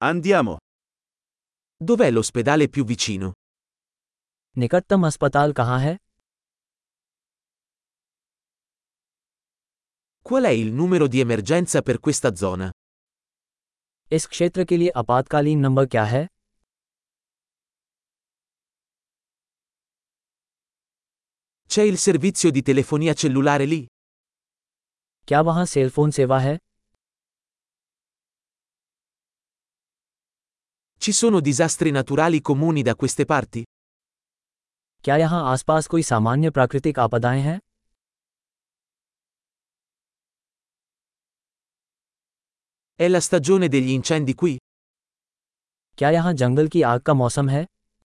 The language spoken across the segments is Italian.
Andiamo. Dov'è l'ospedale più vicino? निकटतम अस्पताल कहाँ है? Qual è il numero di emergenza per questa zona? इस क्षेत्र के लिए आपातकालीन नंबर क्या है? C'è il servizio di telefonia cellulare lì? क्या वहाँ सेल फोन सेवा है? Ci sono disastri naturali comuni da queste parti? क्या यहाँ आसपास कोई सामान्य प्राकृतिक आपदाएं हैं? È la stagione degli incendi qui? क्या यहाँ जंगल की आग का मौसम है?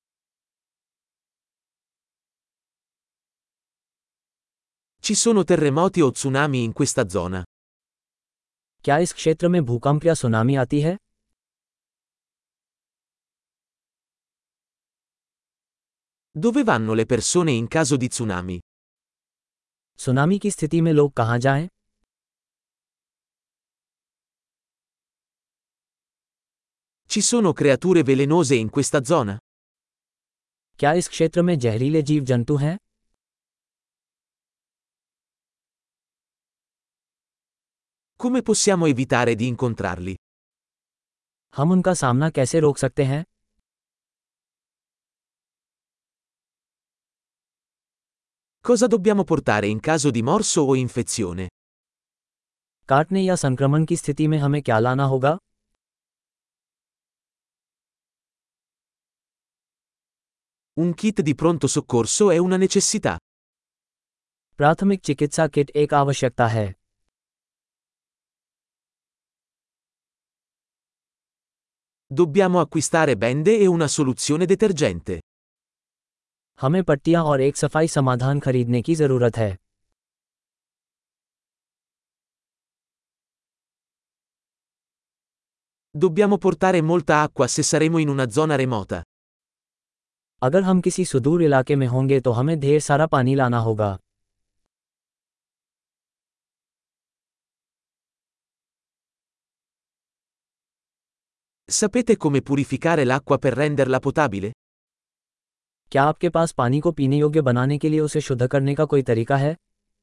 Ci sono terremoti o tsunami in questa zona? क्या इस क्षेत्र में भूकंप या सुनामी आती है? Dove vanno le persone in caso di tsunami? Tsunami की स्थिति में लोग कहाँ जाएं? Ci sono creature velenose in questa zona? क्या इस क्षेत्र में जहरीले जीव जंतु हैं? Come possiamo evitare di incontrarli? हम उनका सामना कैसे रोक सकते हैं? Cosa dobbiamo portare in caso di morso o infezione? काटने या संक्रमण की स्थिति में हमें क्या लाना होगा? Un kit di pronto soccorso è una necessità. प्राथमिक चिकित्सा किट एक आवश्यकता है. Dobbiamo acquistare bende e una soluzione detergente. हमें पट्टियां और एक सफाई समाधान खरीदने की जरूरत है. Dobbiamo portare molta acqua se saremo in una zona remota. अगर हम किसी सुदूर इलाके में होंगे तो हमें ढेर सारा पानी लाना होगा. Sapete come purificare l'acqua per renderla potabile? क्या आपके पास पानी को पीने योग्य बनाने के लिए उसे शुद्ध करने का कोई तरीका है?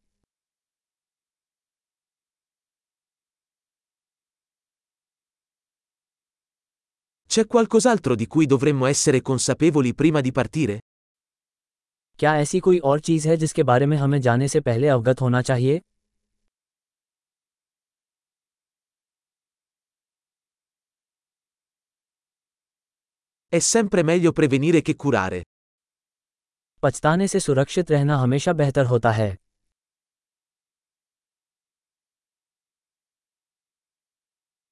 C'è qualcos'altro di cui dovremmo essere consapevoli prima di partire? क्या ऐसी कोई और चीज़ है जिसके बारे में हमें जाने से पहले अवगत होना चाहिए? È sempre meglio prevenire che curare. पछताने से सुरक्षित रहना हमेशा बेहतर होता है.